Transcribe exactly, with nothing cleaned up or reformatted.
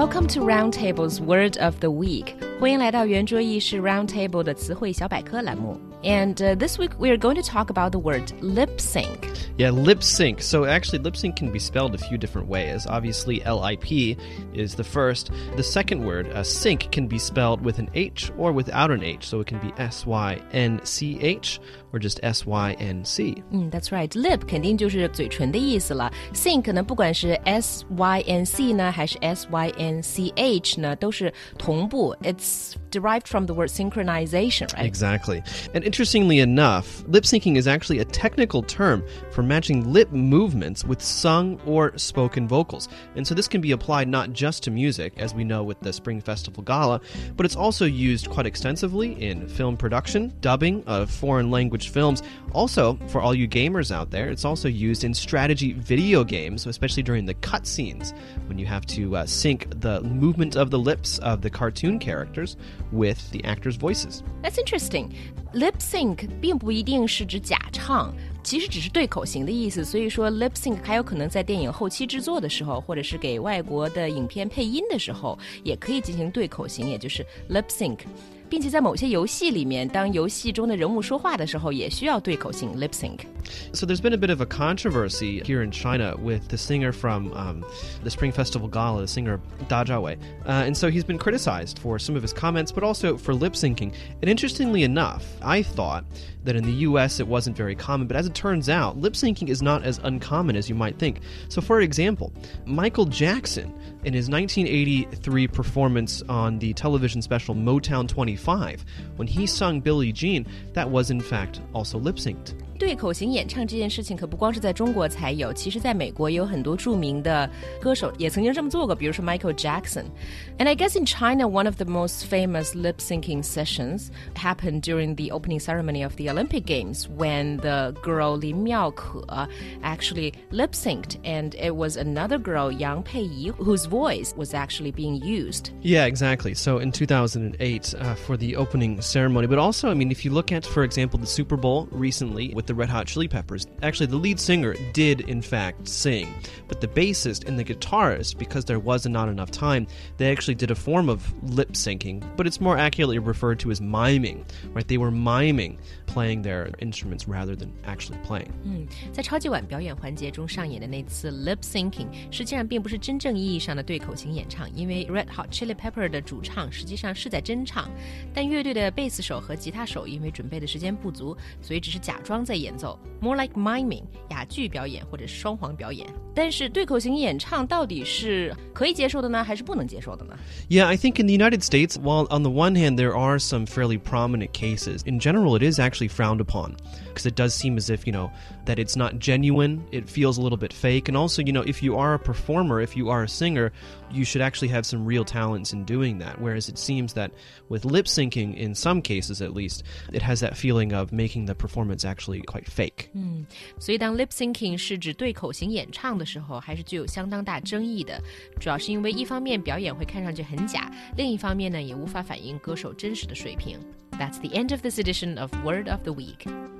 Welcome to Roundtable's Word of the Week. 欢迎来到圆桌意识 Roundtable 的词汇小百科栏目。And uh, this week we are going to talk about the word lip sync. Yeah, lip sync. So actually, lip sync can be spelled a few different ways. Obviously, L I P is the first. The second word, uh, sync, can be spelled with an H or without an H. So it can be S Y N C H or just S Y N C. 嗯 That's right. Lip 肯定就是嘴唇的意思了。Sync 呢，不管是 S Y N C 呢，还是 S Y N C H 呢，都是同步。It's derived from the word synchronization, right? Exactly. And interestingly enough, lip syncing is actually a technical term for matching lip movements with sung or spoken vocals. And so this can be applied not just to music, as we know with the Spring Festival Gala, but it's also used quite extensively in film production, dubbing of foreign language films. Also, for all you gamers out there, it's also used in strategy video games, especially during the cutscenes, when you have to uh, sync the movement of the lips of the cartoon characters with the actors' voices. That's interesting. Lip sync 并不一定是指假唱，其实只是对口型的意思。所以说 lip sync 还有可能在电影后期制作的时候，或者是给外国的影片配音的时候，也可以进行对口型，也就是 lip sync。并且在某些游戏里面，当游戏中的人物说话的时候，也需要对口型 lip sync. So there's been a bit of a controversy here in China with the singer from um, the Spring Festival Gala, the singer Da Zhawei. Uh, and so he's been criticized for some of his comments, but also for lip syncing. And interestingly enough, I thought that in the U S it wasn't very common, but as it turns out, lip syncing is not as uncommon as you might think. So for example, Michael Jackson, in his nineteen eighty-three performance on the television special Motown twenty-five, when he sung Billie Jean, that was in fact also lip synced. 对口型演唱这件事情可不光是在中国才有，其实在美国也有很多著名的歌手也曾经这么做过，比如说 Michael Jackson. And I guess in China, one of the most famous lip syncing sessions happened during the opening ceremony of the Olympic Games when the girl Lin Miaoke actually lip synced, and it was another girl, Yang Peiyi, whose voice was actually being used. Yeah, exactly. So in two thousand eight uh, for the opening ceremony, but also, I mean, if you look at, for example, the Super Bowl recently with the Red Hot Chili Peppers, actually the lead singer did in fact sing, but the bassist and the guitarist, because there was not enough time, they actually did a form of lip syncing, but it's more accurately referred to as miming, right? They were miming playing their instruments rather than actually playing. 嗯，在超级碗表演环节中上演的那次 lip syncing 实际上并不是真正意义上的对口型演唱，因为 Red Hot Chili Pepper 的主唱实际上是在真唱，但乐队的贝斯手和吉他手因为准备的时间不足，所以只是假装在演奏 more like miming 哑剧表演或者是双簧表演。但是对口型演唱到底是可以接受的呢，还是不能接受的呢？ Yeah, I think in the United States, while on the one hand there are some fairly prominent cases, in general it is actually frowned upon because it does seem as if, you know, that it's not genuine, it feels a little bit fake, and also, you know, if you are a performer, if you are a singer, you should actually have some real talents in doing that, whereas it seems that with lip syncing, in some cases at least, it has that feeling of making the performance actually quite fake. 嗯，所以当 lip syncing 是指对口型演唱的时候，还是具有相当大争议的，主要是因为一方面表演会看上去很假，另一方面呢也无法反映歌手真实的水平。That's the end of this edition of Word of the Week.